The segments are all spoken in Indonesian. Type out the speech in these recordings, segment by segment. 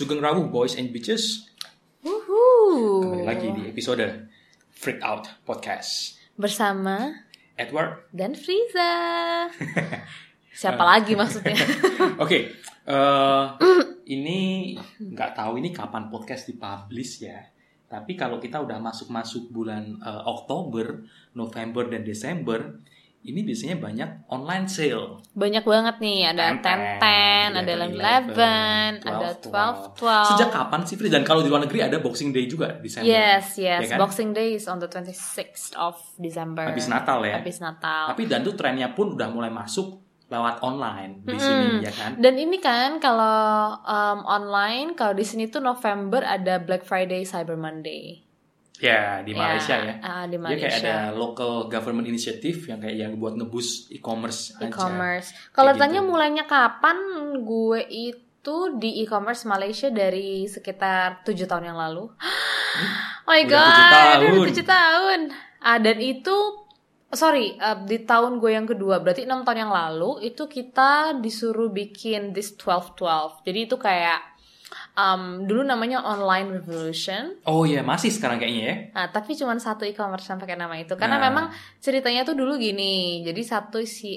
Sugeng Rawuh Boys and Bitches. Kembali lagi di episode Freak Out Podcast bersama Edward dan Friza. Siapa lagi maksudnya? Oke, ini nggak tahu ini kapan podcast dipublish ya. Tapi kalau kita udah masuk bulan Oktober, November dan Desember, ini biasanya banyak online sale. Banyak banget nih, ada 10-10, ada 11, ada 12. Sejak kapan sih, Fri? Dan kalau di luar negeri ada Boxing Day juga di Desember. Yes. Ya kan? Boxing Day is on the 26th of December. Habis Natal ya. Habis Natal. Tapi dan tuh trennya pun udah mulai masuk lewat online di sini ya kan. Dan ini kan kalau online, kalau di sini tuh November ada Black Friday, Cyber Monday. Ya, di Malaysia ya. Di Dia Malaysia. kayak ada local government initiative yang kayak yang buat ngebus e-commerce aja. E-commerce. Kalau Kayak tanya gitu. mulainya kapan, gue itu di e-commerce Malaysia dari sekitar 7 tahun yang lalu. Oh my god, udah 7 tahun. Dan itu di tahun gue yang kedua, berarti 6 tahun yang lalu itu kita disuruh bikin this 12-12. Jadi itu kayak dulu namanya Online Revolution. Oh iya, masih sekarang kayaknya ya. Nah, tapi cuma satu e-commerce yang pakai nama itu. Karena memang ceritanya tuh dulu gini. Jadi satu si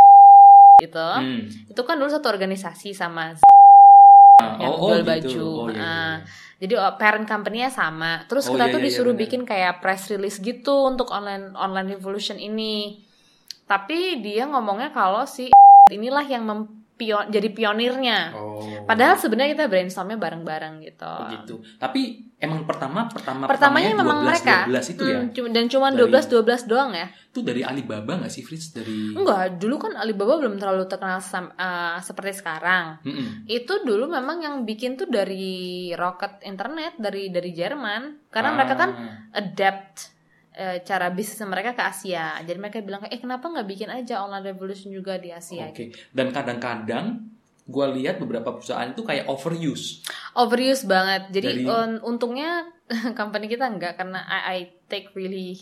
itu kan dulu satu organisasi sama yang jual baju. Gitu. Oh, iya. Jadi parent company-nya sama. Terus kita tuh disuruh bikin kayak press release gitu untuk online revolution ini. Tapi dia ngomongnya kalau si inilah yang jadi pionirnya. Padahal sebenarnya kita brainstormnya bareng-bareng gitu. Oh gitu. Tapi emang pertamanya memang 12, mereka 12 itu ya. Dan cuma 12 doang ya. Itu dari Alibaba enggak sih, Fritz? Enggak, dulu kan Alibaba belum terlalu terkenal seperti sekarang. Itu dulu memang yang bikin tuh dari rocket internet dari Jerman. Karena mereka kan adapt cara bisnis mereka ke Asia. Jadi mereka bilang kenapa nggak bikin aja online revolution juga di Asia? Oke. Dan kadang-kadang gue lihat beberapa perusahaan itu kayak overuse banget. Jadi untungnya company kita enggak, karena I take really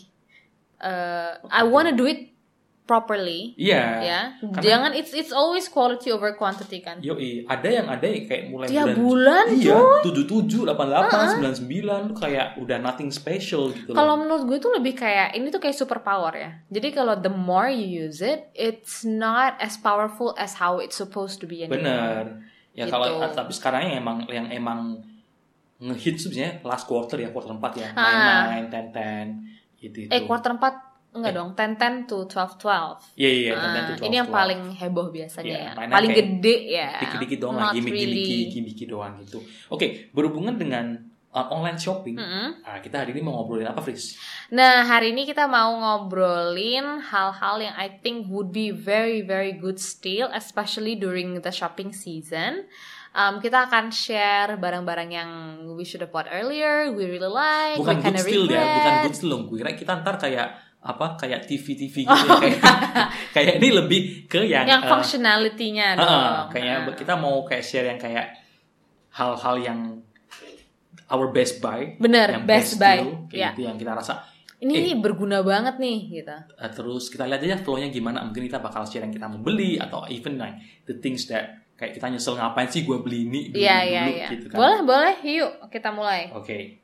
I wanna do it properly. Iya. Ya. Jangan it's always quality over quantity kan. Yoi, ada yang kayak mulai tiap bulan iya, 77, 88, 99 tuh kayak udah nothing special gitu. Kalau menurut gue tuh lebih kayak ini tuh kayak superpower ya. Jadi kalau the more you use it, it's not as powerful as how it's supposed to be anymore. Bener. Ya gitu. Kalau tapi sekarang yang emang ngehit sebenarnya last quarter 4 ya. 9, 10 gitu. Quarter 4 enggak dong, 10 to 12. Iya, 10 to 12. Ini yang paling heboh biasanya ya. Paling Paling gede ya. Dikit-dikit doang lah, gimmick doang gitu. Oke, berhubungan dengan online shopping, kita hari ini mau ngobrolin apa, Fris? Nah, hari ini kita mau ngobrolin hal-hal yang I think would be very, very good steal, especially during the shopping season. Kita akan share barang-barang yang we should have bought earlier, we really like, bukan we kind of regret. Bukan good steal dong. Gue kira kita ntar kayak TV gitu kayak ini lebih ke yang functionality-nya dong. Kayak kita mau kayak share yang kayak hal-hal yang our best buy. Bener, yang best buy. Kayak gitu yang kita rasa ini berguna banget nih gitu. Terus kita lihat aja flow-nya gimana. Mungkin kita bakal share yang kita mau beli atau even like the things that kayak kita nyesel ngapain sih gue beli ini dulu gitu kan. Boleh, yuk kita mulai. Oke.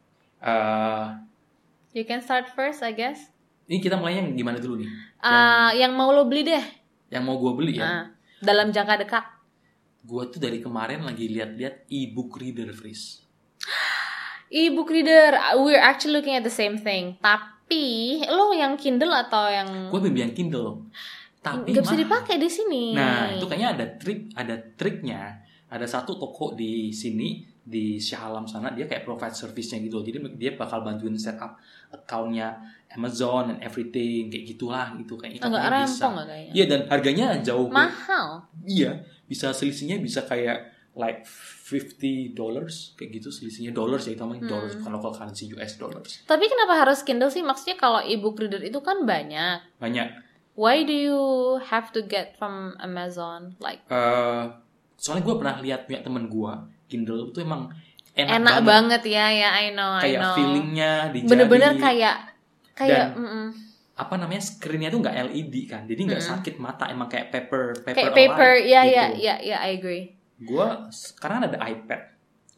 You can start first, I guess. Ini kita mulainya gimana dulu nih? Yang mau lo beli deh. Yang mau gue beli ya? Dalam jangka dekat. Gue tuh dari kemarin lagi lihat-lihat e-book reader, Fris. E-book reader, we're actually looking at the same thing. Tapi lo yang Kindle atau yang? Gue beli yang Kindle. Tapi nggak bisa dipakai di sini. Nah, itu kayaknya ada triknya. Ada satu toko di sini di Shah Alam sana, dia kayak provide service-nya gitu. Jadi dia bakal bantuin setup account-nya Amazon and everything kayak gitulah gitu kayaknya. Enggak rempong enggak kayaknya. Iya, dan harganya jauh mahal. Iya, bisa selisihnya bisa kayak like $50 kayak gitu selisihnya dollars ya, itu namanya dollars bukan local currency US dollars. Tapi kenapa harus Kindle sih? Maksudnya kalau e-book reader itu kan banyak. Why do you have to get from Amazon like? Soalnya gue pernah lihat punya temen gue Kindle itu emang enak banget ya, I know. Kayak feelingnya di jari. Bener-bener kayak dan apa namanya screennya tuh nggak LED kan, jadi nggak sakit mata, emang kayak paper kayak paper, ya, I agree. Gue sekarang ada iPad,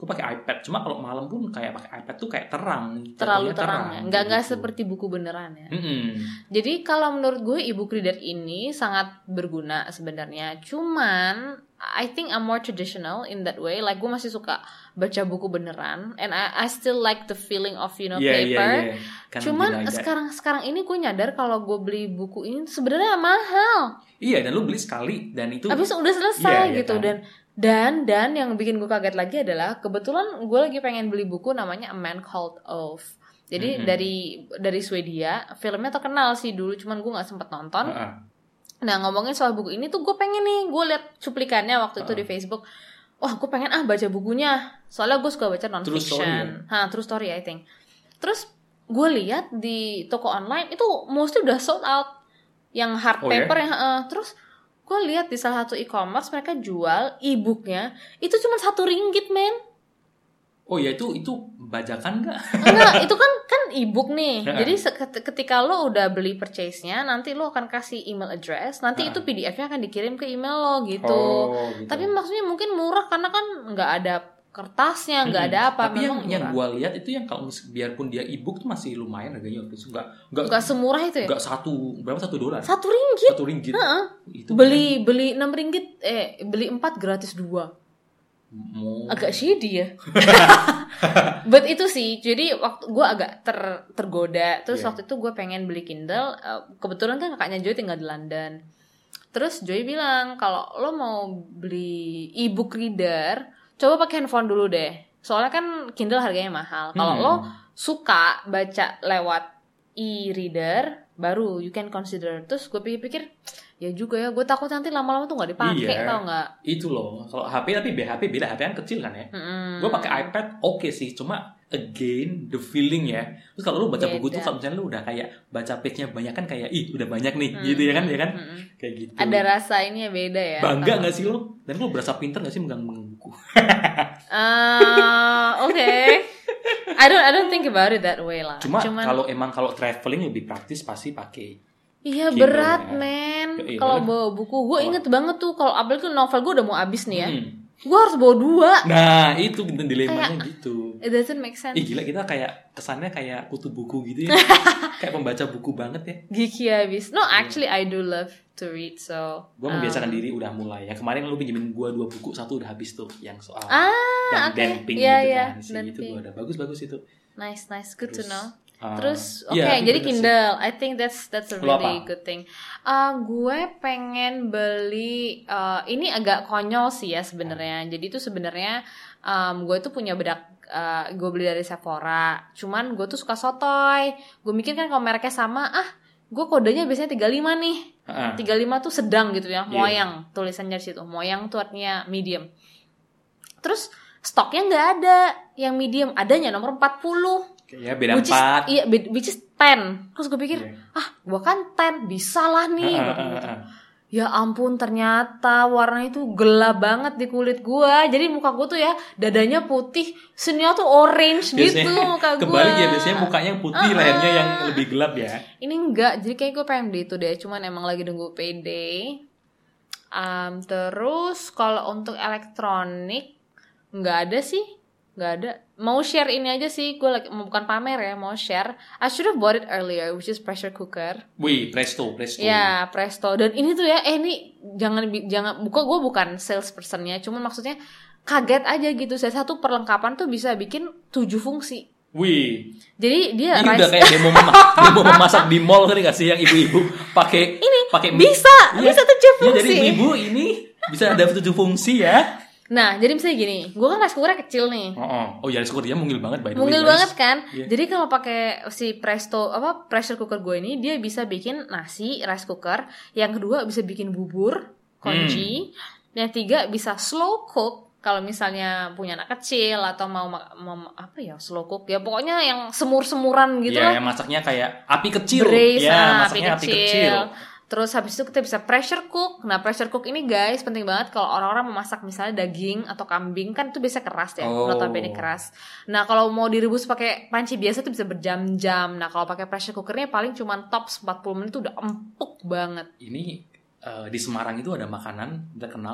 Gue pakai iPad. Cuma kalau malam pun kayak pakai iPad tuh kayak terang. Terlalu terang ya. Nggak gitu. seperti buku beneran ya. Jadi kalau menurut gue e-book reader ini sangat berguna sebenarnya. Cuman I think I'm more traditional in that way. Like gue masih suka baca buku beneran, and I still like the feeling of paper. Cuman sekarang ini gue nyadar kalau gue beli buku ini sebenarnya mahal. Iya, dan lu beli sekali dan itu habis udah selesai gitu kan? Dan yang bikin gue kaget lagi adalah kebetulan gue lagi pengen beli buku namanya A Man Called Ove. Jadi dari Swedia, filmnya terkenal sih dulu, cuman gue nggak sempet nonton. Nah ngomongin soal buku ini tuh gue pengen nih, gue liat cuplikannya waktu itu di Facebook. Wah gue pengen baca bukunya, soalnya gue suka baca non-fiction. True story I think. Terus gue lihat di toko online itu mostly udah sold out, yang hard paper yang terus gue lihat di salah satu e-commerce mereka jual e-booknya itu cuma RM1 men. Oh ya itu bajakan nggak? Enggak, itu kan e-book nih. Jadi ketika lo udah beli purchase-nya, nanti lo akan kasih email address, nanti itu PDF-nya akan dikirim ke email lo gitu. Tapi maksudnya mungkin murah karena kan nggak ada kertasnya, nggak ada apa. Tapi yang gue lihat itu yang kalau biarpun dia e-book tuh masih lumayan harganya waktu itu, nggak semurah itu ya. Nggak berapa $1? RM1. Itu beli RM6, beli 4 gratis 2. Agak shady ya. But itu sih, jadi waktu gue agak tergoda. Terus waktu itu gue pengen beli Kindle. Kebetulan kan kakaknya Joy tinggal di London. Terus Joy bilang kalau lo mau beli e-book reader, coba pakai handphone dulu deh. Soalnya kan Kindle harganya mahal. Kalau lo suka baca lewat e-reader, baru you can consider. Terus gue pikir-pikir, ya juga ya, gue takut nanti lama-lama tuh nggak dipakai, tau nggak? Itu loh, kalau HP tapi HP beda, HP kan kecil kan ya. Gue pakai iPad oke sih, cuma again the feeling ya. Terus kalau lu baca buku tuh, kalau misalnya lu udah kayak baca page-nya banyak kan kayak udah banyak nih, gitu ya kan, kayak gitu. Ada rasa ini ya beda ya. Bangga nggak sih lo? Dan lu berasa pinter nggak sih megang buku? Oke. I don't think about it that way lah. Cuman kalau traveling lebih praktis pasti pakai. Iya Kindle berat ya. Men. Kalau bawa buku, gue inget banget tuh kalau apalagi novel gue udah mau habis nih ya. Gue harus bawa 2. Nah itu dilemanya gitu. It doesn't make sense. Gila kita kayak kesannya kayak kutu buku gitu ya. Kayak pembaca buku banget ya. Geeky habis. No actually I do love to read so. Gue membiasakan diri udah mulai ya. Kemarin lu pinjemin gue 2 buku, 1 udah habis tuh yang soal damping gitu kan. Itu gue udah bagus itu. Nice good to know. Terus jadi Kindle, I think that's a really good thing. Gue pengen beli ini agak konyol sih ya sebenarnya. Jadi itu sebenarnya gue tuh punya bedak, gue beli dari Sephora. Cuman gue tuh suka sotoy. Gue mikir kan kalau mereknya sama, gue kodenya biasanya 35 nih. 35 tuh sedang gitu ya, moyang tulisannya di situ. Moyang tuh artinya medium. Terus stoknya nggak ada yang medium, adanya nomor 40. Ya beda 4. Iya, which is 10. Terus gue pikir, gue kan 10, bisa lah nih. Ya ampun, ternyata warnanya tuh gelap banget di kulit gue. Jadi muka gue tuh ya, dadanya putih, sininya tuh orange biasanya, gitu muka gue. Kebalik ya, biasanya mukanya putih, lehernya yang lebih gelap ya. Ini enggak, jadi kayak gue pengen beli itu deh. Cuman emang lagi nunggu payday. Terus kalau untuk elektronik, nggak ada sih. Nggak ada. Mau share ini aja sih, gue bukan pamer ya, mau share. I should have bought it earlier, which is pressure cooker. Wih, Presto. Ya, Presto. Dan ini tuh ya, ini jangan gue bukan salespersonnya, cuman maksudnya kaget aja gitu. Satu perlengkapan tuh bisa bikin 7 fungsi. Wih. Jadi dia ini udah kayak demo memasak di mall kan nggak sih yang ibu-ibu pakai bisa 7 fungsi. Ya, jadi ibu ini bisa ada 7 fungsi ya. Nah, jadi misalnya gini, gue kan rice cookernya kecil nih. Oh ya, rice cooker dia mungil banget by the way. Mungil banget kan? Yeah. Jadi kalau pakai si Presto pressure cooker gue ini, dia bisa bikin nasi rice cooker. Yang kedua bisa bikin bubur congee. Yang 3 bisa slow cook. Kalau misalnya punya anak kecil atau mau apa ya slow cook ya, pokoknya yang semur-semuran gitu lah. Iya, yang masaknya kayak api kecil. Braise, ya, masaknya api kecil. Terus habis itu kita bisa pressure cook. Nah pressure cook ini guys penting banget kalau orang-orang memasak misalnya daging atau kambing kan itu biasa keras ya, notabene keras. Nah kalau mau direbus pakai panci biasa itu bisa berjam-jam. Nah kalau pakai pressure cookernya paling cuma tops 40 menit itu udah empuk banget. Ini di Semarang itu ada makanan terkenal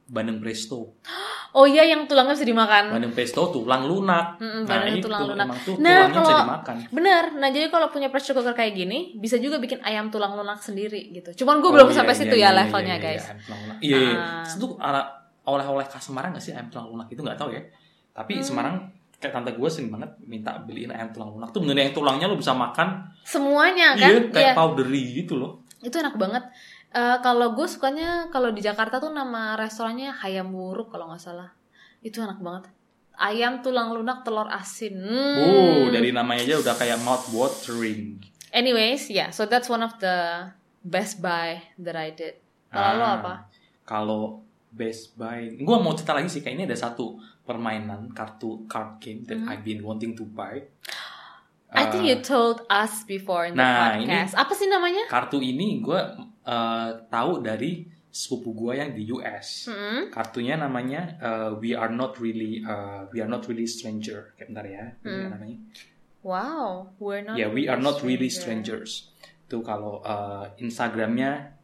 bandeng presto. Oh iya, yang tulangnya bisa dimakan. Bandeng presto tulang lunak. Bandeng itu tulang lunak. emang tuh tulangnya bisa dimakan. Bener. Nah jadi kalau punya pressure cooker kayak gini, bisa juga bikin ayam tulang lunak sendiri gitu. Cuman gue belum sampai situ levelnya guys. Iya. Itu oleh-oleh khas Semarang nggak sih ayam tulang lunak itu nggak tahu ya. Tapi Semarang kayak tante gue sering banget minta beliin ayam tulang lunak tuh, mengenai yang tulangnya lo bisa makan semuanya kan. Iya, kayak powdery gitu loh. Itu enak banget. Kalau gue sukanya kalau di Jakarta tuh nama restorannya Hayam Wuruk kalau nggak salah. Itu enak banget. Ayam tulang lunak telur asin. Dari namanya aja udah kayak mouth watering. Anyways, so that's one of the best buy that I did. Kalau lo apa? Kalau best buy, gue mau cerita lagi sih. Kayak ini ada satu permainan card game that I've been wanting to buy. I think you told us before in the podcast. Apa sih namanya? Kartu ini gue tahu dari sepupu gue yang di US. Kartunya namanya We Are Not Really Stranger. Kayak bentar ya, namanya. Wow, We Are Not Really Strangers. Itu kalau Instagramnya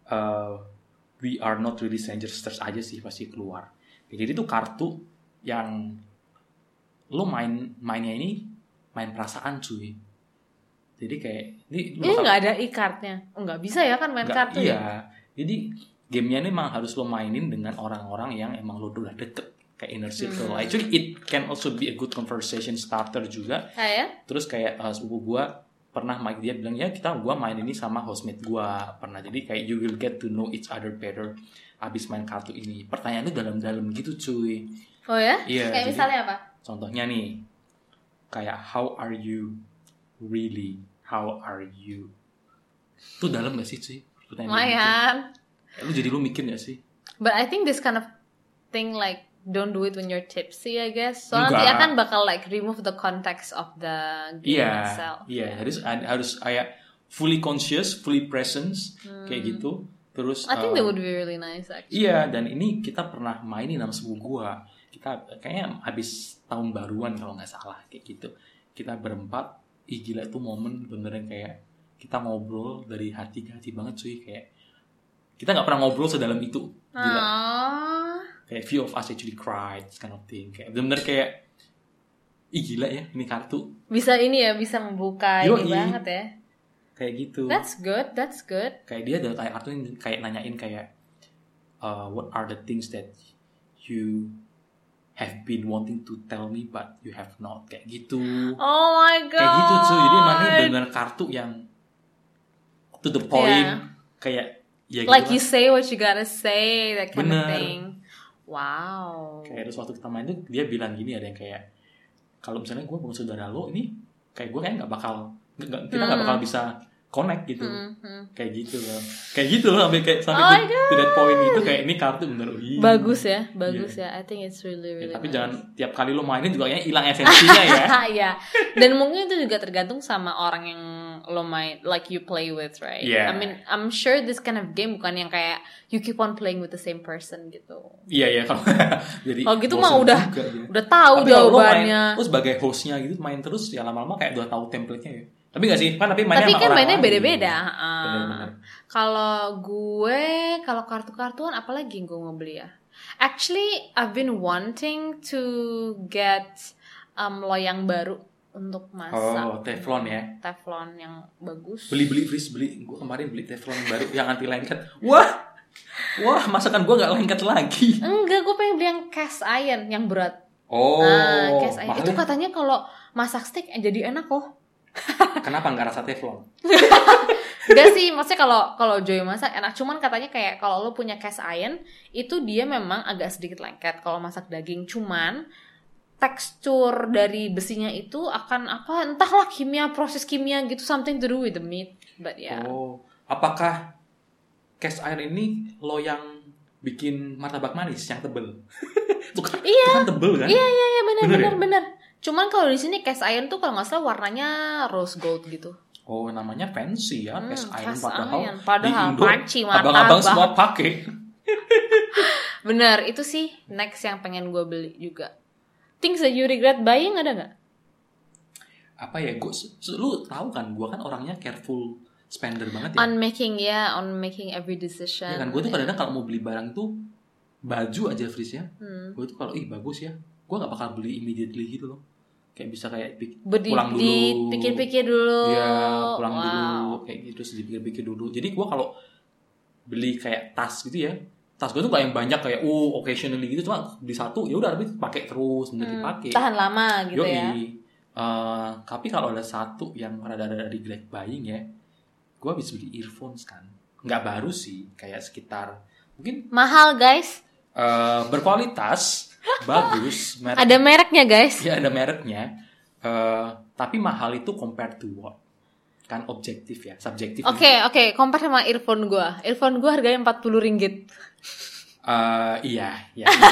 We Are Not Really Strangers, search aja sih pasti keluar. Jadi itu kartu yang lo mainnya ini main perasaan cuy. Jadi kayak ini nggak ada e-cardnya, nggak bisa ya kan main kartu ya. Jadi gamenya ini memang harus lo mainin dengan orang-orang yang emang lo udah deket, kayak inner circle. Actually it can also be a good conversation starter juga. Terus kayak sepupu gue pernah dia bilang gue main ini sama housemate gue pernah. Jadi kayak you will get to know each other better abis main kartu ini. Pertanyaannya dalam-dalam gitu cuy. Oh ya? Iya. Kayak misalnya apa? Contohnya nih, kayak how are you really? How are you? Itu dalam gak sih cuy? Lumayan. Lu jadi lu mikir gak sih? But I think this kind of thing like don't do it when you're tipsy, I guess. So nanti akan bakal like remove the context of the game itself. Iya, harus kayak fully conscious, fully presence kayak gitu. Terus I think that would be really nice actually. Iya, dan ini kita pernah mainin sama sepupu gua. Kita kayaknya habis tahun baruan kalau nggak salah kayak gitu. Kita berempat, gila itu momen beneran kayak kita ngobrol dari hati ke hati banget cuy, kayak kita nggak pernah ngobrol sedalam itu. Gila. Kayak few of us actually cried, kind of thing. Kayak bener-bener kayak gila ya ini kartu. Bisa ini ya, bisa membuka ini banget ya. Kayak gitu. That's good. Kayak dia ada kayak kartu kayak nanyain kayak what are the things that you have been wanting to tell me but you have not, kayak gitu. Oh my god. Kayak gitu cuy. Jadi mana benar kartu yang to the point, kayak ya gitu like lah. You say what you gotta say, that kind of thing. Wow. Kayak terus waktu kita main tuh dia bilang gini, ada yang kayak kalau misalnya gue bukan saudara lo ini, kayak gue kan kita nggak bakal bisa connect gitu. Kayak gitu loh sampai to that point gitu, kayak ini kartu bener. Bagus ya. I think it's really tapi nice. jangan tiap kali lo mainin juga kayaknya hilang esensinya ya. Iya. Dan mungkin itu juga tergantung sama orang yang lo main, like you play with, right? Yeah. I mean, I'm sure this kind of game bukan yang kayak you keep on playing with the same person gitu. Iya kalau jadi gitu mah udah tahu jawabannya. Terus sebagai hostnya gitu main terus ya lama-lama kayak udah tahu template-nya ya. Tapi nggak sih, tapi mainnya beda-beda. Kalau kartu-kartuan apalagi yang gue mau beli ya? Actually, I've been wanting to get loyang baru untuk masak. Oh, Teflon ya? Teflon yang bagus. Beli. Gue kemarin beli Teflon baru yang anti lengket. Wah, masakan gue nggak lengket lagi. Enggak, gue pengen beli yang cast iron yang berat. Oh, cast iron. Itu katanya kalau masak steak jadi enak kok. Kenapa nggak rasa Teflon? Enggak sih, maksudnya kalau Joy masak enak. Cuman katanya kayak kalau lo punya cast iron itu dia memang agak sedikit lengket kalau masak daging. Cuman tekstur dari besinya itu akan entahlah proses kimia gitu, something to do with the meat. But yeah. Oh, apakah cast iron ini lo yang bikin martabak manis yang tebel? Itu kan tebel kan? Iya, benar. Cuman kalau di sini cast iron tuh kalau nggak salah warnanya rose gold gitu. Oh, namanya fancy ya cast iron, padahal panci martabak. Abang-abang semua pakai. Bener, itu sih next yang pengen gue beli juga. Things that you regret buying ada nggak? Apa ya, lu tahu kan, gue kan orangnya careful spender banget ya. On making every decision. Ya kan, gue tuh kadang-kadang kalau mau beli barang tuh baju aja Fris ya, gue tuh kalau bagus ya, gue nggak bakal beli immediately gitu loh. Kayak bisa kayak pulang dulu, pikir-pikir dulu. Iya, pulang dulu, kayak gitu, dipikir-pikir dulu. Jadi gue kalau beli kayak tas gitu ya, tas gue tuh kayak yang banyak kayak occasionally gitu, cuma beli satu ya udah habis pakai terus, bener dipakai. Tahan lama gitu. Yoi. Ya. Tapi kalau ada satu yang rada regret buying ya, gue habis beli earphones kan, nggak baru sih, kayak sekitar mungkin mahal guys. Berkualitas. Bagus. Ada mereknya guys. Ya ada mereknya. Tapi mahal itu compared to what? Kan objektif ya, subjektif. Oke. Compare sama earphone gue. Earphone gue harganya 40 ringgit. Iya.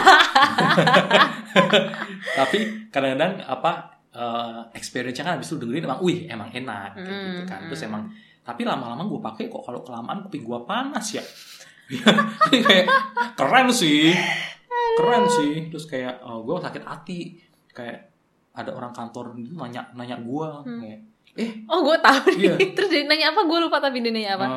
Tapi kadang-kadang experience-nya kan habis itu dengerin emang enak gitu kan. Terus emang tapi lama-lama gue pakai kok kalau kelamaan kuping gue panas ya. Jadi kayak keren sih. Terus kayak gue sakit hati, kayak ada orang kantor itu nanya gue kayak gue tahu nih. Terus dia nanya apa, gue lupa tapi dia nanya apa.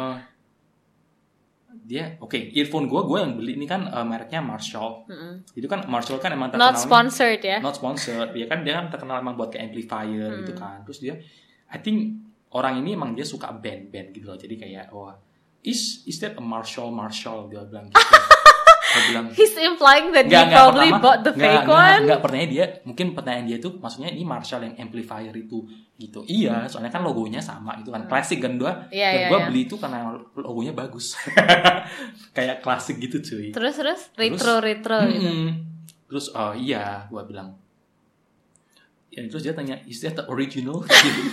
Dia earphone gue yang beli ini kan mereknya Marshall. Itu kan Marshall kan emang terkenal, not sponsored ya, dia kan terkenal emang buat kayak amplifier gitu kan. Terus dia I think orang ini emang dia suka band gitu loh, jadi kayak is that a Marshall dia bilang gitu. Dia bilang, he's implying that he probably bought the fake one. Pertanyaan dia tuh maksudnya ini Marshall yang amplifier itu gitu. Iya, soalnya kan logonya sama itu kan klasik kan gue beli itu karena logonya bagus. Kayak klasik gitu cuy. Terus retro gitu. Terus iya gue bilang. Ya, terus dia tanya, is that the original?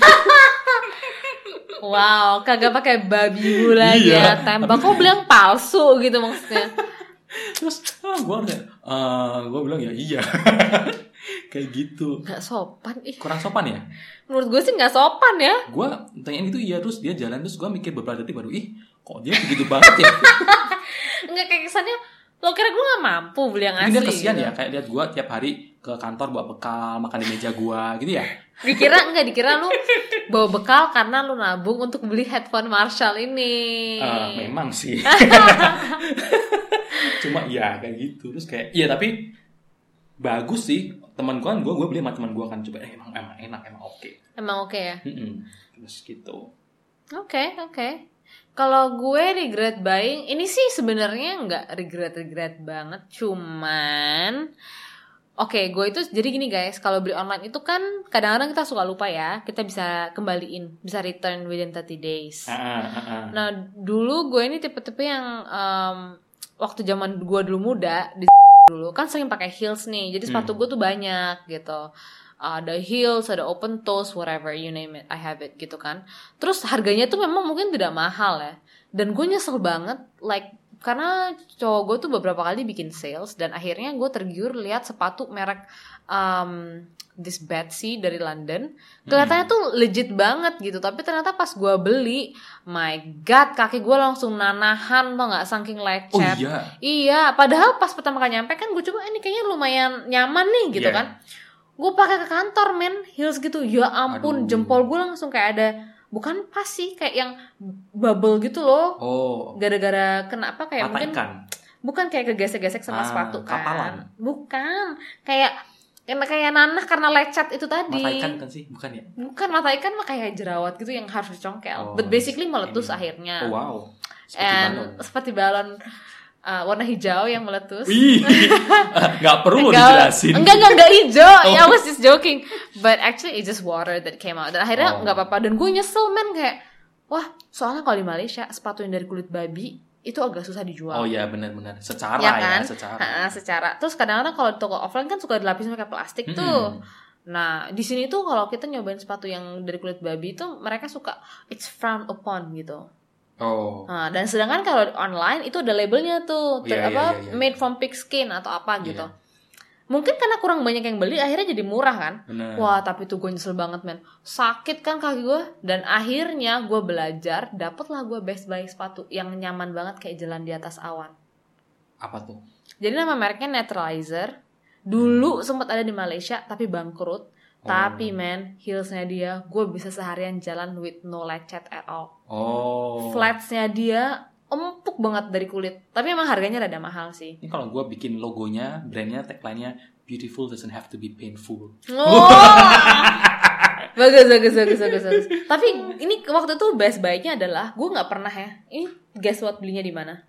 Wow, kagak pakai babi lagi ya, tembak. Kok bilang palsu gitu maksudnya? Terus gue bilang ya iya. Kayak gitu. Gak sopan. Kurang sopan ya? Menurut gue sih gak sopan ya. Gue tanyain itu iya, terus dia jalan, terus gue mikir beberapa detik baru kok dia begitu banget ya. Enggak, kayak kesannya lo kira gue gak mampu beli yang asli. Dia kesian gitu. Ya, kayak lihat gue tiap hari ke kantor bawa bekal, makan di meja gue gitu ya. Dikira lu bawa bekal karena lu nabung untuk beli headphone Marshall ini. Memang sih. Cuma ya kayak gitu. Terus kayak tapi bagus sih. Teman gue beli sama teman gue kan, coba emang enak, emang oke. Emang oke ya. Terus gitu. Oke. Kalau gue regret buying, ini sih sebenarnya nggak regret banget, cuman gue itu jadi gini guys, kalau beli online itu kan kadang-kadang kita suka lupa ya, kita bisa kembaliin, bisa return within 30 days. Nah dulu gue ini tipe-tipe yang waktu zaman gue dulu muda dulu kan sering pakai heels nih, jadi sepatu gue tuh banyak gitu. Ada heels, ada open toes, whatever, you name it, I have it gitu kan. Terus harganya tuh memang mungkin tidak mahal ya. Dan gue nyesel banget, karena cowok gue tuh beberapa kali bikin sales, dan akhirnya gue tergiur lihat sepatu merek this Betsy dari London. Kelihatannya tuh legit banget gitu, tapi ternyata pas gue beli, my god, kaki gue langsung nanahan, tau gak, saking lecet. Iya, padahal pas pertama kali nyampe kan gue coba, ini kayaknya lumayan nyaman nih gitu kan. Gue pakai ke kantor heels gitu, ya ampun. Jempol gue langsung kayak ada, bukan pas sih, kayak yang bubble gitu loh. Gara-gara kenapa kayak mata mungkin ikan. Bukan kayak kegesek-gesek sama sepatu kan. Kapalan. Bukan, kayak nanah karena lecet itu tadi. Mata ikan kan sih, bukan ya? Bukan, mata ikan mah kayak jerawat gitu yang harus dicongkel. But basically meletus akhirnya. Wow. Seperti balon. Warna hijau yang meletus. Gak perlu dijelasin. Enggak hijau. I was just joking. But actually it's just water that came out. Dan akhirnya gak apa-apa. Dan gue nyesel kayak, wah, soalnya kalau di Malaysia sepatu yang dari kulit babi itu agak susah dijual. Oh iya, benar-benar. Secara ya kan? Secara. Terus kadang-kadang kalau di toko offline kan suka dilapisin pakai plastik tuh. Nah, di sini tuh kalau kita nyobain sepatu yang dari kulit babi itu mereka suka it's frowned upon gitu. Nah, dan sedangkan kalau online itu ada labelnya tuh, made from pig skin atau apa gitu. Mungkin karena kurang banyak yang beli, akhirnya jadi murah kan. Bener. Wah, tapi tuh gue nyesel banget sakit kan kaki gue. Dan akhirnya gue belajar, dapatlah gue best buy sepatu yang nyaman banget kayak jalan di atas awan. Apa tuh? Jadi nama mereknya Naturalizer. Dulu sempat ada di Malaysia tapi bangkrut. Tapi heelsnya dia, gue bisa seharian jalan with no lecet at all. Flatsnya dia empuk banget dari kulit. Tapi emang harganya rada mahal sih. Ini kalau gue bikin logonya, brandnya, tagline-nya beautiful doesn't have to be painful. Oh. Bagus. Tapi ini waktu itu best buy-nya adalah gue nggak pernah ya. Ini guess what belinya di mana?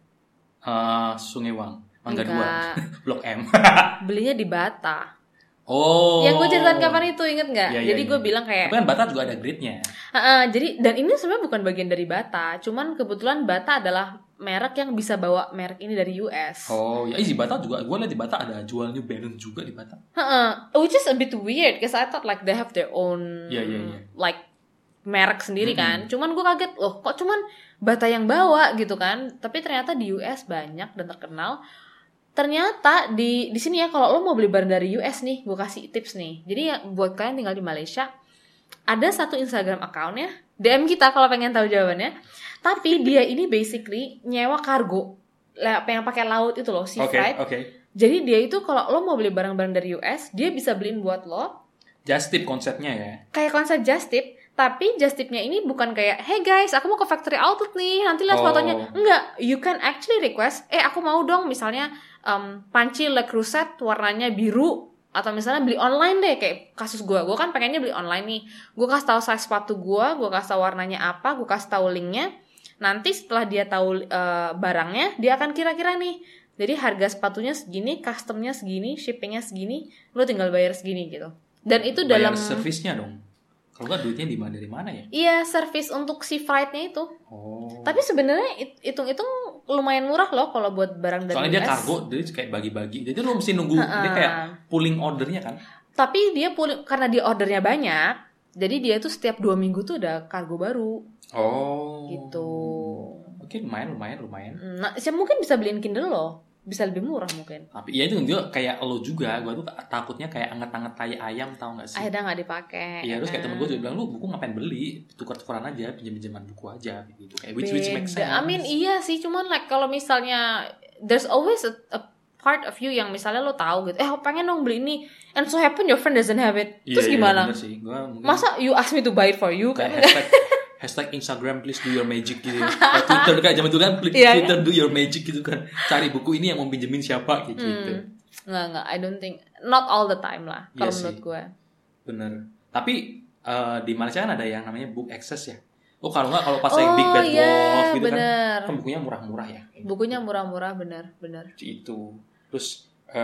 Sungai Wang, Mangga 2, Blok M. Belinya di Bata. Oh. Yang gue ceritain kapan itu, inget nggak? Ya, jadi gue bilang kayak. Tapi kan Bata juga ada grade-nya. Jadi dan ini sebenarnya bukan bagian dari Bata, cuman kebetulan Bata adalah merek yang bisa bawa merek ini dari US. Oh, ya di Bata juga. Gue lihat di Bata ada jual New Balance juga di Bata. Which is a bit weird, because I thought like they have their own like merek sendiri kan. Cuman gue kaget, loh kok cuman Bata yang bawa gitu kan? Tapi ternyata di US banyak dan terkenal. Ternyata di sini ya, kalau lo mau beli barang dari US nih, gue kasih tips nih. Jadi ya buat kalian tinggal di Malaysia, ada satu Instagram account-nya, DM kita kalau pengen tahu jawabannya. Tapi dia ini basically nyewa kargo, yang pakai laut itu loh, sea freight. Jadi dia itu kalau lo mau beli barang-barang dari US, dia bisa beliin buat lo. Just tip konsepnya ya. Kayak konsep just tip, tapi just tipnya ini bukan kayak, hey guys, aku mau ke factory outlet nih, nanti lihat fotonya. Enggak, you can actually request, aku mau dong misalnya panci Le Creuset warnanya biru, atau misalnya beli online deh, kayak kasus gue kan pengennya beli online nih. Gue kasih tahu size sepatu gue kasih tahu warnanya apa, gue kasih tahu linknya. Nanti setelah dia tahu barangnya, dia akan kira-kira nih. Jadi harga sepatunya segini, customnya segini, shippingnya segini, lo tinggal bayar segini gitu. Dan itu bayar dalam servisnya dong. Kalau nggak duitnya dari mana ya? Iya, servis untuk sea freight-nya itu. Tapi sebenarnya hitung-hitung lumayan murah loh kalau buat barang dari US. Soalnya dia kargo, jadi kayak bagi-bagi. Jadi lo mesti nunggu, dia kayak pooling ordernya kan. Tapi dia pooling, karena dia ordernya banyak, jadi dia tuh setiap 2 minggu tuh ada kargo baru. Gitu. Oke, lumayan. Nah, mungkin bisa beliin Kindle loh. Bisa lebih murah mungkin. Tapi ya itu dia kayak lo juga. Gue tuh takutnya kayak anget-anget tai ayam, tau gak sih? Akhirnya gak dipakai. Iya, terus kayak temen gue juga bilang, lu buku ngapain beli? Tukar-tukaran aja, pinjam-pinjaman buku aja gitu. Kayak which makes sense. I mean iya sih, cuman like kalau misalnya there's always a part of you yang misalnya lo tahu gitu, pengen dong beli ini, and so happen your friend doesn't have it. Terus gimana? Bener sih. Masa you ask me to buy it for you kan? Hashtag Instagram please do your magic gitu ya. Twitter kayak zaman dulu kan Twitter do your magic gitu kan. Cari buku ini yang mau pinjemin siapa gitu. Nggak, I don't think, not all the time lah kalau menurut gue. Bener. Tapi di Malaysia kan ada yang namanya book access ya. Kalau pas yang Big Bad Wolf gitu kan bukunya murah-murah ya. Bukunya murah-murah, bener. Itu. Terus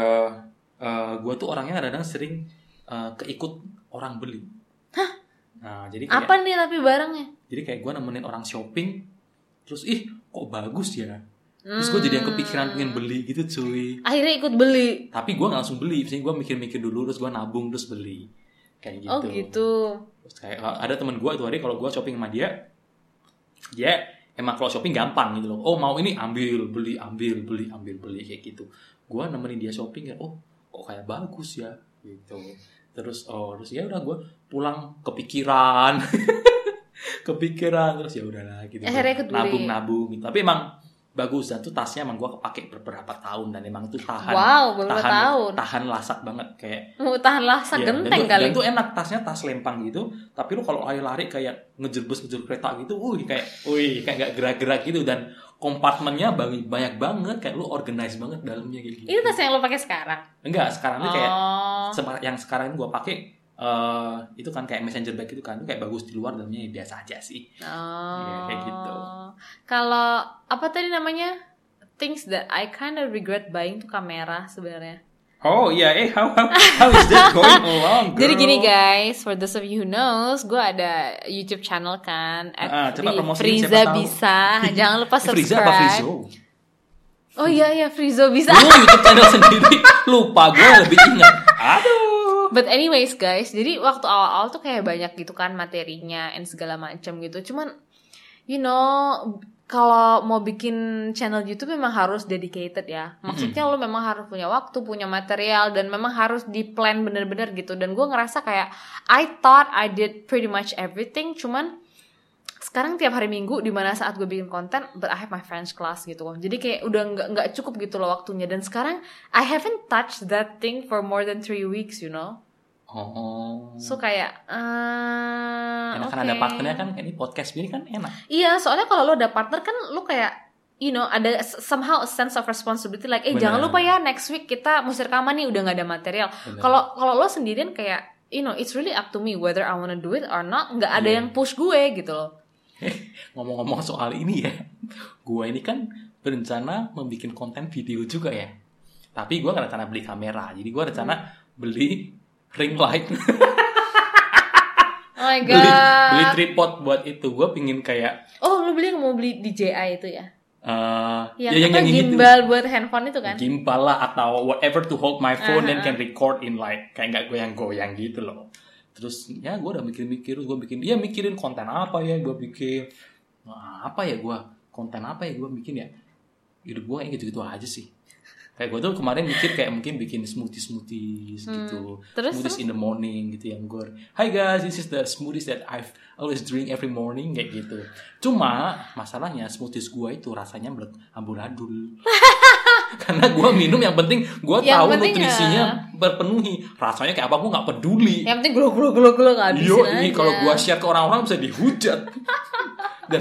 gue tuh orangnya kadang-kadang sering keikut orang beli. Hah? Nah, jadi kayak, apa nih tapi barangnya? Jadi kayak gue nemenin orang shopping, terus kok bagus ya. Terus gue jadi yang kepikiran pengen beli gitu cuy. Akhirnya ikut beli. Tapi gue gak langsung beli, misalnya gue mikir-mikir dulu, terus gue nabung, terus beli. Kayak gitu. Oh gitu. Terus kayak ada teman gue itu hari kalau gue shopping sama dia emang kalau shopping gampang gitu loh. Mau ini ambil, beli kayak gitu. Gue nemenin dia shopping ya, kok kayak bagus ya gitu. Terus ya udah gue pulang kepikiran terus ya udahlah gitu. Nabung gitu. Tapi emang bagus, dan tuh tasnya emang gue kepake beberapa tahun, dan emang tuh tahan lasak banget kayak. Tahan lasak genteng kali. Dan tuh enak, tasnya tas lempang gitu. Tapi lu kalau lari kayak ngejer kereta gitu, kayak nggak gerak-gerak gitu, dan kompartemennya banyak banget, kayak lu organize banget dalamnya gitu. Ini tas yang lu pakai sekarang? Enggak, sekarang tuh kayak yang sekarang gue pakai itu kan kayak messenger bag itu kan, itu kayak bagus, di luar dalamnya biasa aja sih. Ya, kayak gitu. Kalau apa tadi namanya, things that I kind of regret buying tuh kamera sebenarnya. Oh iya, how is that going along, girl? Jadi gini guys, for those of you who knows, gue ada YouTube channel kan, Friza bisa, jangan lupa subscribe. Friza apa Frizo? Oh iya, Frizo bisa. YouTube channel sendiri, lupa gue lebih ingat. Aduh. But anyways guys, jadi waktu awal-awal tuh kayak banyak gitu kan materinya and segala macam gitu. Cuman, kalau mau bikin channel YouTube memang harus dedicated ya. Maksudnya lo memang harus punya waktu, punya material, dan memang harus di-plan bener-bener gitu. Dan gue ngerasa kayak I thought I did pretty much everything. Cuman sekarang tiap hari Minggu, dimana saat gue bikin konten, but I have my French class gitu. Jadi kayak udah nggak cukup gitu loh waktunya. Dan sekarang I haven't touched that thing for more than 3 weeks, So kayak enak kan ada partnernya kan, ini podcast ini kan enak. Iya, soalnya kalau lo ada partner kan lo kayak ada somehow a sense of responsibility like jangan lupa ya next week kita mesti rekaman nih, udah nggak ada material. Kalau lo sendirian kayak it's really up to me whether I wanna do it or not, nggak ada yang push gue gitu loh. Ngomong-ngomong soal ini ya, gue ini kan berencana membuat konten video juga ya, tapi gue nggak rencana beli kamera, jadi gue rencana beli ring light. Oh my god. Beli tripod buat itu. Gue pingin kayak lu mau beli DJI itu ya? yang gimbal gitu. Buat handphone itu kan? Gimbal lah atau whatever to hold my phone and can record in like kayak nggak goyang-goyang gitu loh. Terus ya gue udah mikir-mikir, gue mikirin konten apa ya gue bikin, konten apa ya gue bikin ya. Hidup gue kayak gitu-gitu aja sih. Kayak gue tuh kemarin mikir kayak mungkin bikin smoothies gitu. Smoothies in the morning gitu yang gue, hi guys, this is the smoothies that I've always drink every morning kayak gitu. Cuma masalahnya smoothies gue itu rasanya amburadul. Karena gue minum yang penting gue tahu nutrisinya berpenuhi. Rasanya kayak apa gue nggak peduli. Yang penting gelo nggak habisin aja. Kalau gue share ke orang-orang bisa dihujat. Dan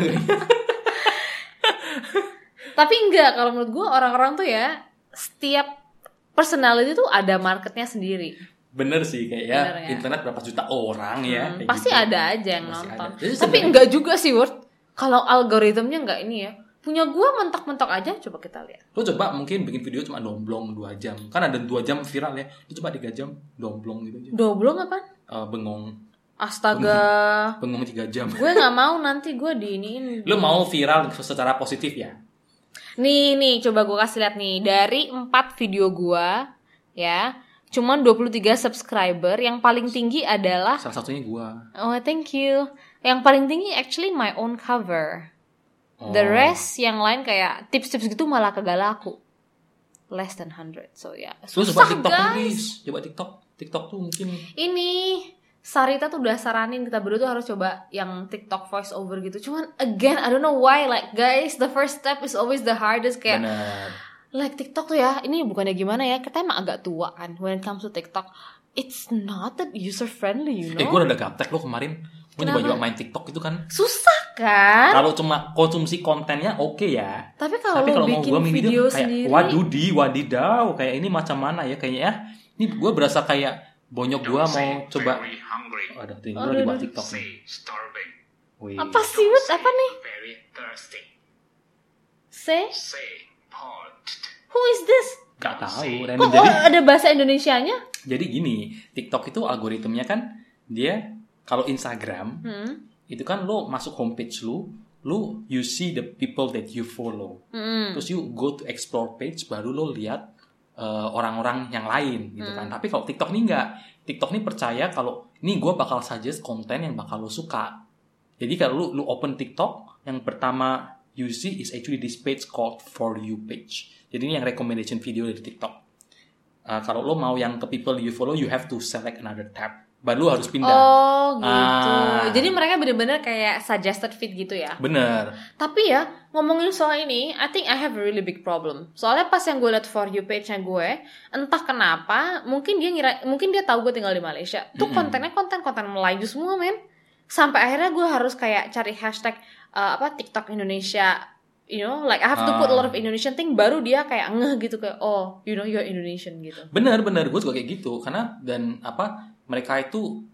tapi enggak, kalau menurut gue orang-orang tuh ya setiap personality tuh ada marketnya sendiri. Bener sih kayak internet berapa juta orang ya. Pasti gitu. Ada aja yang nonton. Tapi enggak juga sih Word. Kalau algoritmnya enggak ini ya. Punya gue mentok-mentok aja, coba kita lihat. Lo coba mungkin bikin video cuma domblong 2 jam. Kan ada 2 jam viral ya. Lo coba 3 jam domblong gitu aja. Domblong apa? Bengong. Astaga. Bengong 3 jam. Gue gak mau nanti gue diiniin. Lo mau viral secara positif ya? Nih, coba gue kasih lihat nih. Dari 4 video gue, ya, cuman 23 subscriber. Yang paling tinggi adalah salah satunya gue. Oh, thank you. Yang paling tinggi actually my own cover. The rest yang lain kayak tips-tips gitu malah kagak laku. Less than 100. So ya. Lu coba TikTok please. Coba TikTok tuh mungkin. Ini Sarita tuh udah saranin kita berdua tuh harus coba yang TikTok voice over gitu. Cuman again I don't know why, like guys, the first step is always the hardest. Kayak like TikTok tuh ya, ini bukannya gimana ya, kita emang agak tua kan when it comes to TikTok. It's not that user friendly, you know. Gue udah gaptek lo kemarin. Gue nyoba main TikTok itu kan susah kan. Kalau cuma konsumsi kontennya oke ya. Tapi kalau bikin mau video kayak, sendiri, wadidaw, kayak ini macam mana ya kayaknya ya. Ini gue berasa kayak bonyok gue mau coba. Ada tuh gue lagi buat TikTok nih. Apa sih Wut? Apa nih? Say who is this? Gak tahu. Kok ada bahasa Indonesianya? Jadi gini, TikTok itu algoritmnya kan dia kalau Instagram itu kan lo masuk homepage lu you see the people that you follow. Terus you go to explore page, baru lo lihat orang-orang yang lain gitu kan. Tapi kalau TikTok ini enggak. TikTok ini percaya kalau ini gue bakal suggest konten yang bakal lo suka. Jadi kalau lu open TikTok, yang pertama you see is actually this page called For You page. Jadi ini yang recommendation video dari TikTok. Kalau lo mau yang ke people you follow, you have to select another tab. Baru lo harus pindah. Oh gitu. Jadi mereka benar-benar kayak suggested feed gitu ya. Bener. Tapi ya ngomongin soal ini, I think I have a really big problem. Soalnya pas yang gue liat For You page-nya gue, entah kenapa, mungkin dia tahu gue tinggal di Malaysia. Tuh kontennya konten Melayu semua men. Sampai akhirnya gue harus kayak cari hashtag TikTok Indonesia. You know, like I have to put a lot of Indonesian thing, baru dia kayak ngeh gitu kayak you know you're Indonesian gitu. Bener gue juga kayak gitu karena mereka itu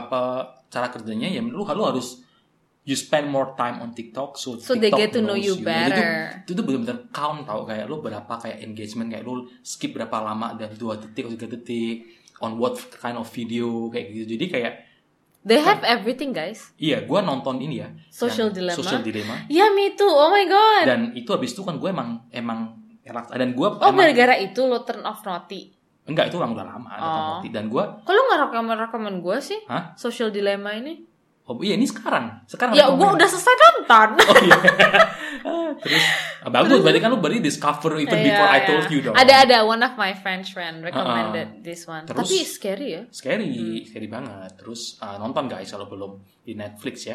cara kerjanya ya lu harus you spend more time on TikTok so TikTok they get to know you better. Itu benar-benar count tau kayak lu berapa kayak engagement, kayak lu skip berapa lama dan 2 detik atau 3 detik on what kind of video kayak gitu. Jadi kayak they have everything guys. Iya, gue nonton ini ya. Social Dilemma. Ya, me too. Oh my god. Dan itu habis itu kan gue emang dan gue gara-gara itu lo turn off noti. Enggak, itu udah lama noti. Dan gue kok lo nggak rekomen gue sih? Hah? Social Dilemma ini? Oh iya, ini sekarang ya gue udah selesai nonton. Oh iya. Terus bagus, berarti kan lu discover even before I told you dong. Ada one of my French friend recommended this one. Terus, tapi scary ya. Scary banget. Terus nonton guys kalau belum di Netflix ya.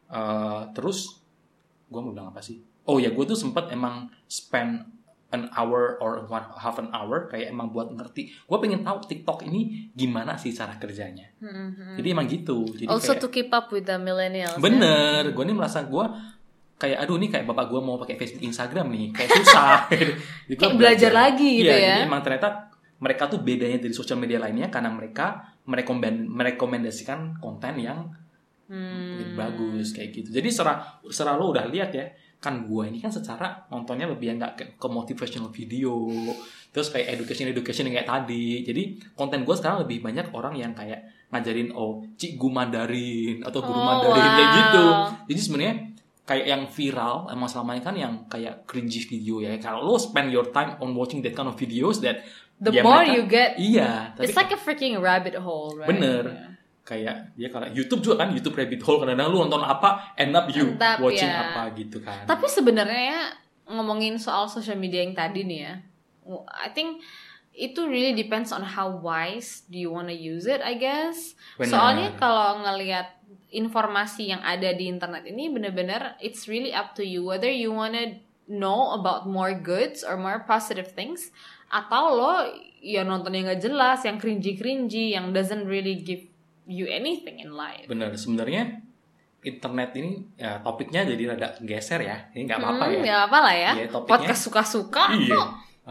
Terus gue mau bilang apa sih? Oh ya, gue tuh sempet emang spend an hour or half an hour kayak emang buat ngerti. Gue pengen tahu TikTok ini gimana sih cara kerjanya. Jadi emang gitu. Jadi also kayak, to keep up with the millennials. Bener. Gue nih merasa gue kayak aduh ini kayak bapak gue mau pakai Facebook Instagram nih kayak susah. Jadi kayak belajar lagi gitu ya. Jadi emang ternyata mereka tuh bedanya dari sosial media lainnya karena mereka merekomendasikan konten yang bagus kayak gitu. Jadi serah lo udah lihat ya, kan gue ini kan secara nontonnya lebih nggak ke motivational video, terus kayak education yang kayak tadi. Jadi konten gue sekarang lebih banyak orang yang kayak ngajarin cikgu Mandarin atau guru Mandarin kayak gitu. Jadi sebenarnya kayak yang viral emang selamanya kan yang kayak cringy video ya. Kalau lo spend your time on watching that kind of videos, that the more you get, it's like a freaking rabbit hole, right? Bener. Yeah. Kayak dia kalau YouTube juga kan, YouTube rabbit hole, kadang-kadang lu nonton apa end up watching apa gitu kan. Tapi sebenarnya ngomongin soal social media yang tadi nih ya, I think itu really depends on how wise do you wanna use it, I guess. Bener. Soalnya kalau ngelihat informasi yang ada di internet ini benar-benar it's really up to you whether you wanna know about more goods or more positive things, atau lo ya nonton yang gak jelas, yang cringy yang doesn't really give you anything in life. Bener, sebenarnya internet ini ya, topiknya jadi rada geser ya. Ini nggak apa-apa ya. Nggak apa lah ya. Podcast suka-suka. Iya.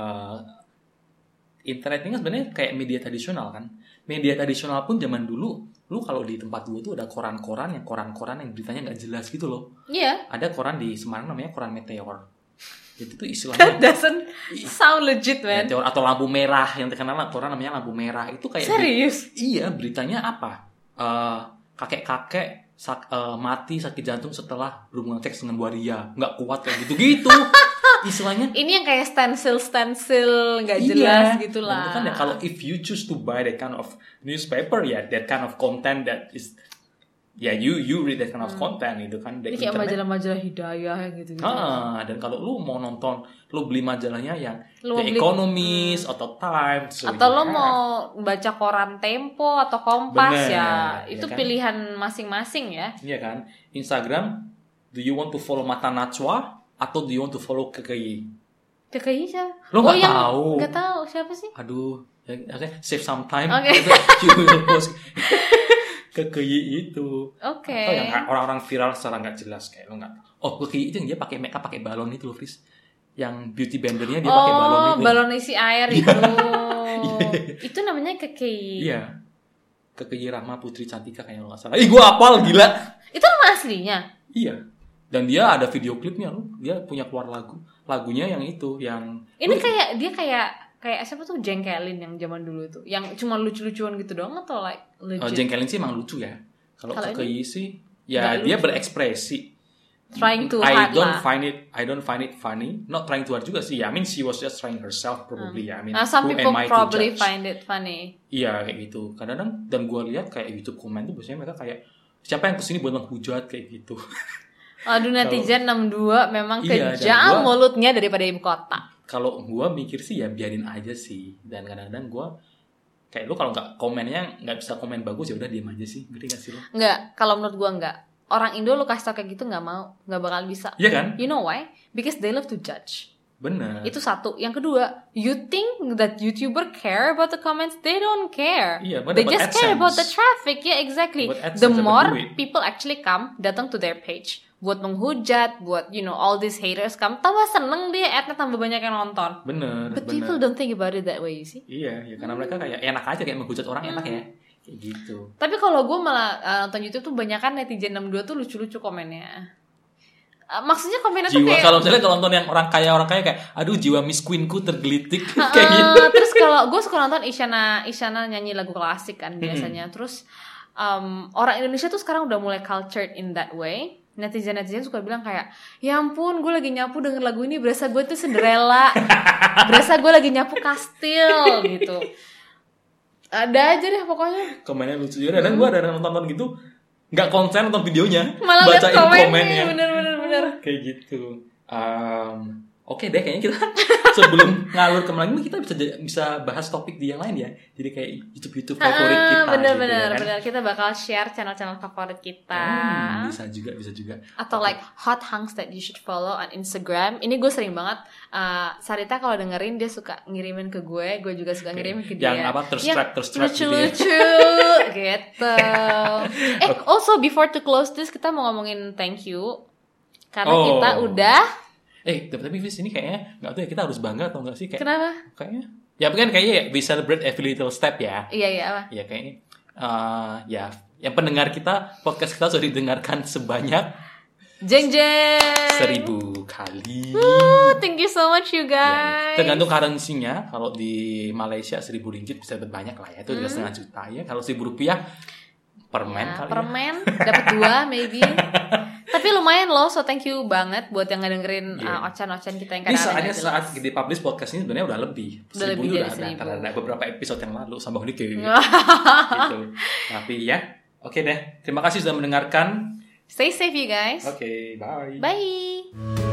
Internet ini kan sebenarnya kayak media tradisional kan. Media tradisional pun zaman dulu, lu kalau di tempat gue tuh ada koran-koran yang beritanya nggak jelas gitu loh. Iya. Ada koran di Semarang namanya koran Meteor. Itu tuh istilahnya. That doesn't sound legit, man. Meteor atau lampu merah, yang terkenal koran namanya lampu merah. Itu kayak serius? Iya, beritanya apa? Kakek-kakek mati sakit jantung setelah berhubungan seks dengan waria. Nggak kuat kayak gitu-gitu. Istilahnya. Ini yang kayak stencil nggak jelas gitulah. Itu kan ya, kalau if you choose to buy that kind of newspaper ya, that kind of content that is you read that kind of content itu kan. Ini kayak majalah-majalah hidayah gitu. Dan kalau lu mau nonton, lu beli majalahnya yang The Economist atau Times, atau lo mau baca koran Tempo atau Kompas. Bener, itu kan? Pilihan masing-masing ya. Iya kan. Instagram, do you want to follow Mata Najwa atau do you want to follow KKI? KKI siapa? Lo nggak tahu? Nggak tahu siapa sih? Aduh, save some time. Okay. KKI itu. Oke. Atau yang orang-orang viral secara nggak jelas kayak lo nggak tahu. KKI itu yang dia pakai makeup pakai balon itu loh, Fris. Yang beauty blendernya dia pakai balon itu. Balon isi air itu. Itu namanya KKI. Iya. KKI Rahma Putri Cantika kayaknya lo nggak salah. Gue apal gila. Itu nama aslinya. Iya. Dan dia ada video klipnya loh. Dia punya keluar lagunya yang itu yang. Ini kayak siapa tuh Jengkelin yang zaman dulu tuh, yang cuma lucu-lucuan gitu doang atau like legit? Jengkelin sih emang lucu ya. Kalau KKI sih ya dia berekspresi. Trying to hard lah. I don't find it funny. Not trying to hard juga sih. I mean she was just trying herself probably ya. I mean some people probably find it funny. Iya kayak gitu. Kadang-kadang dan gue lihat kayak YouTube komen tuh biasanya mereka kayak siapa yang kesini buat menghujat kayak gitu. Aduh netizen 62 memang kejam mulutnya daripada ibu kota. Kalau gue mikir sih ya biarin aja sih. Dan kadang-kadang gue kayak lu kalau nggak komennya nggak bisa komen bagus ya udah diam aja sih. Ngerti gak sih lo? Nggak, kalau menurut gue nggak. Orang Indo lu kasih tau kayak gitu nggak bakal bisa. Iya kan? You know why? Because they love to judge. Bener. Itu satu. Yang kedua, you think that YouTuber care about the comments? They don't care. Iya, they just care about the traffic. Yeah, exactly. The more people actually come datang to their page buat menghujat, buat all these haters come, tambah seneng dia, adnya tambah banyak yang nonton. Bener. But people don't think about it that way, you see? Iya, ya karena mereka kayak enak aja kayak menghujat orang enak ya. Kayak gitu. Tapi kalau gue malah nonton YouTube tuh banyak kan netizen 62 tuh lucu-lucu komennya. Maksudnya komennya tuh kayak kalau misalnya kalau nonton yang orang kaya kayak aduh jiwa Miss Queenku tergelitik kayak gitu. Terus kalau gue suka nonton Isyana nyanyi lagu klasik kan biasanya. Terus orang Indonesia tuh sekarang udah mulai cultured in that way. Netizen suka bilang kayak ya ampun gue lagi nyapu denger lagu ini berasa gue tuh Cinderella. Berasa gue lagi nyapu kastil gitu. Ada aja deh pokoknya. Komennya lucu juga. Dan gue ada nonton gitu nggak konsen nonton videonya, malah bacain komennya. Bener. Kayak gitu. Oke deh, kayaknya kita sebelum ngalur kemana lagi kita bisa bahas topik di yang lain ya. Jadi kayak YouTube favorit kita. Bener. Kita bakal share channel-channel favorit kita. Bisa juga. Atau like hot hunks that you should follow on Instagram. Ini gue sering banget. Sarita kalau dengerin dia suka ngirimin ke gue juga suka ngirimin ke dia. Yang apa terstrap lucu-lucu gitu. Also before to close this kita mau ngomongin thank you. Karena kita udah. Tapi Fis, ini kayaknya nggak tahu ya, kita harus bangga atau nggak sih? Kenapa? Kayaknya. Ya kan kayaknya we celebrate every little step ya. Iya apa? Ya kayaknya. Ya, yang pendengar kita, podcast kita sudah didengarkan sebanyak jeng 1.000 kali. Thank you so much you guys. Ya, tergantung currency-nya. Kalau di Malaysia 1.000 ringgit bisa dapat banyak lah ya. Itu juga setengah juta ya. Kalau 1.000 rupiah permen ya, kali permen dapat 2 maybe. Tapi lumayan loh, so thank you banget buat yang ngedengerin ocehan-ocehan kita yang kadang-kadang. Ini saat di-publish podcast ini sebenarnya udah lebih. Udah lebih dari 1.000. Ada beberapa episode yang lalu sambung dikit. Gitu. Tapi ya, oke deh. Terima kasih sudah mendengarkan. Stay safe you guys. Oke, bye. Bye.